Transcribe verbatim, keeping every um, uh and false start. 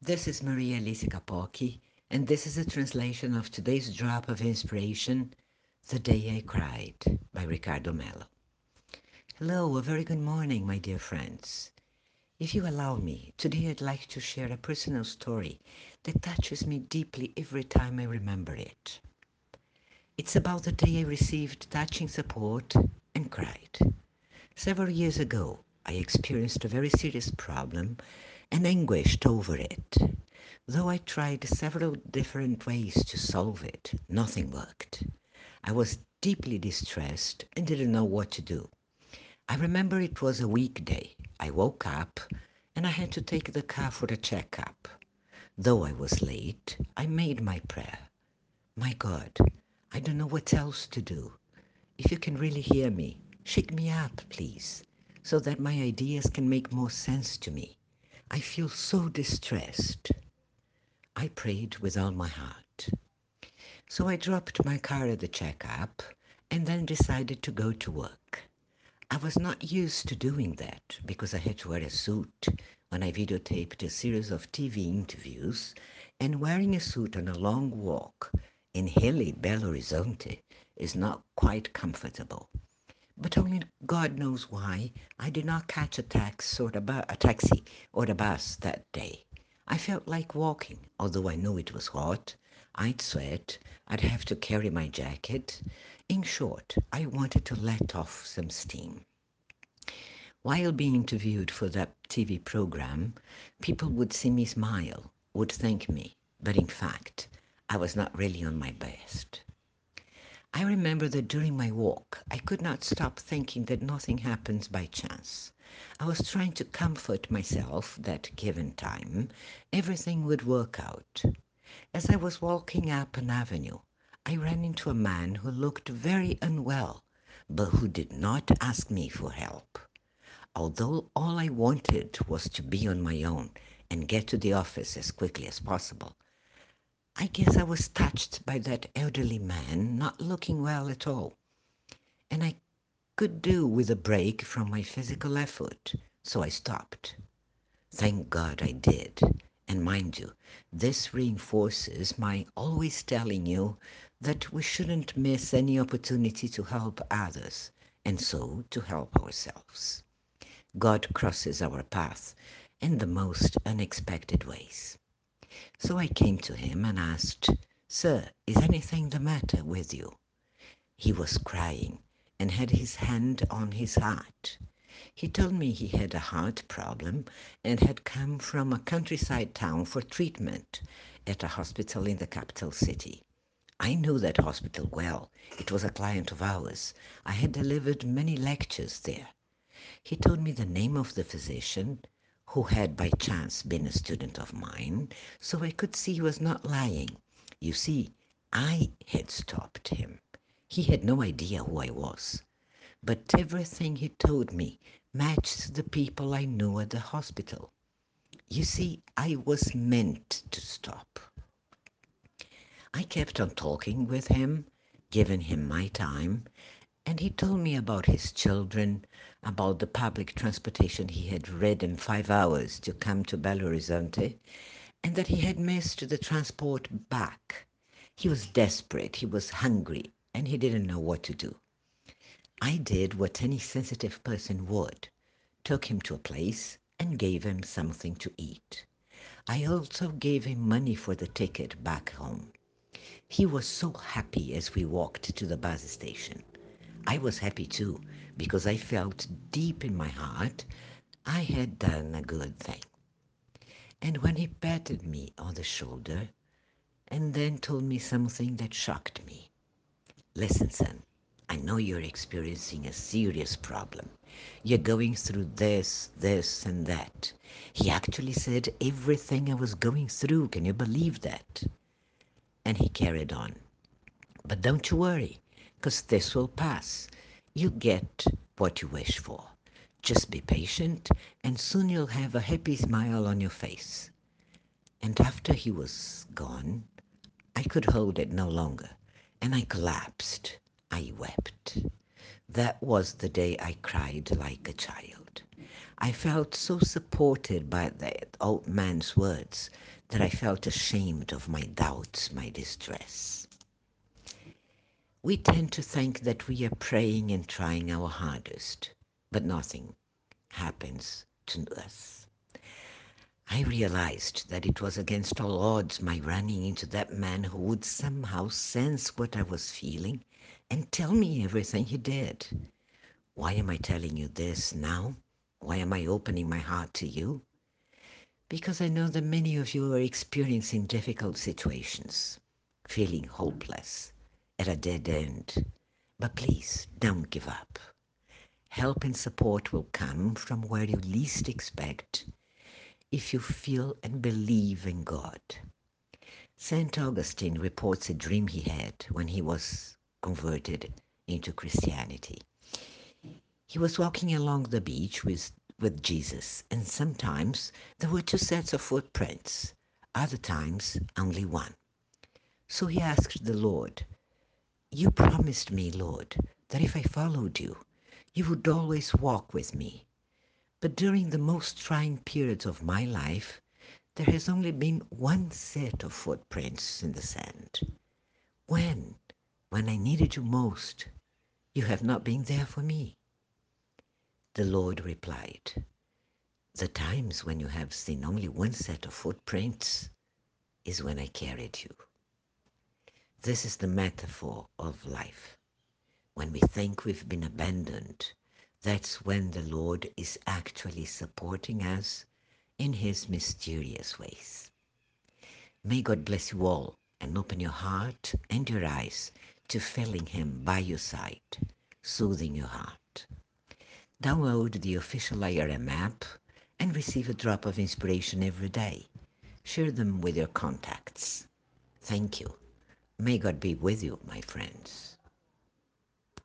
This is Maria Elise Capocchi, and this is a translation of today's drop of inspiration, The Day I Cried, by Ricardo Mello. Hello, a very good morning, my dear friends. If you allow me, today I'd like to share a personal story that touches me deeply every time I remember it. It's about the day I received touching support and cried. Several years ago, I experienced a very serious problem and anguished over it. Though I tried several different ways to solve it, nothing worked. I was deeply distressed and didn't know what to do. I remember it was a weekday. I woke up and I had to take the car for a checkup. Though I was late, I made my prayer. My God, I don't know what else to do. If you can really hear me, shake me up, please, so that my ideas can make more sense to me. I feel so distressed. I prayed with all my heart. So I dropped my car at the checkup and then decided to go to work. I was not used to doing that because I had to wear a suit when I videotaped a series of T V interviews, and wearing a suit on a long walk in hilly Belo Horizonte is not quite comfortable. But only God knows why I did not catch a taxi or a, bu- a taxi or a bus that day. I felt like walking, although I knew it was hot. I'd sweat. I'd have to carry my jacket. In short, I wanted to let off some steam. While being interviewed for that T V program, people would see me smile, would thank me, but in fact, I was not really on my best. I remember that during my walk, I could not stop thinking that nothing happens by chance. I was trying to comfort myself that given time, everything would work out. As I was walking up an avenue, I ran into a man who looked very unwell, but who did not ask me for help. Although all I wanted was to be on my own and get to the office as quickly as possible, I guess I was touched by that elderly man not looking well at all, and I could do with a break from my physical effort, so I stopped. Thank God I did. And mind you, this reinforces my always telling you that we shouldn't miss any opportunity to help others, and so to help ourselves. God crosses our path in the most unexpected ways. So I came to him and asked, Sir, is anything the matter with you? He was crying and had his hand on his heart. He told me he had a heart problem and had come from a countryside town for treatment at a hospital in the capital city. I knew that hospital well. It was a client of ours. I had delivered many lectures there. He told me the name of the physician, who had by chance been a student of mine, so I could see he was not lying. You see, I had stopped him. He had no idea who I was. But everything he told me matched the people I knew at the hospital. You see, I was meant to stop. I kept on talking with him, giving him my time, and he told me about his children, about the public transportation he had ridden five hours to come to Belo Horizonte, and that he had missed the transport back. He was desperate, he was hungry, and he didn't know what to do. I did what any sensitive person would, took him to a place and gave him something to eat. I also gave him money for the ticket back home. He was so happy as we walked to the bus station. I was happy too, because I felt deep in my heart I had done a good thing. And when he patted me on the shoulder and then told me something that shocked me. Listen, son, I know you're experiencing a serious problem. You're going through this, this, and that. He actually said everything I was going through. Can you believe that? And he carried on. But don't you worry, because this will pass. You'll get what you wish for. Just be patient, and soon you'll have a happy smile on your face. And after he was gone, I could hold it no longer, and I collapsed. I wept. That was the day I cried like a child. I felt so supported by that old man's words that I felt ashamed of my doubts, my distress. We tend to think that we are praying and trying our hardest, but nothing happens to us. I realized that it was against all odds my running into that man who would somehow sense what I was feeling and tell me everything he did. Why am I telling you this now? Why am I opening my heart to you? Because I know that many of you are experiencing difficult situations, feeling hopeless, at a dead end. But please don't give up. Help and support will come from where you least expect if you feel and believe in God. Saint Augustine reports a dream he had when he was converted into Christianity. He was walking along the beach with, with Jesus, and sometimes there were two sets of footprints, other times only one. So he asked the Lord, "You promised me, Lord, that if I followed you, you would always walk with me. But during the most trying periods of my life, there has only been one set of footprints in the sand. When? When I needed you most, you have not been there for me." The Lord replied, "The times when you have seen only one set of footprints is when I carried you." This is the metaphor of life. When we think we've been abandoned, that's when the Lord is actually supporting us in His mysterious ways. May God bless you all and open your heart and your eyes to feeling Him by your side, soothing your heart. Download the official I R M app and receive a drop of inspiration every day. Share them with your contacts. Thank you. May God be with you, my friends.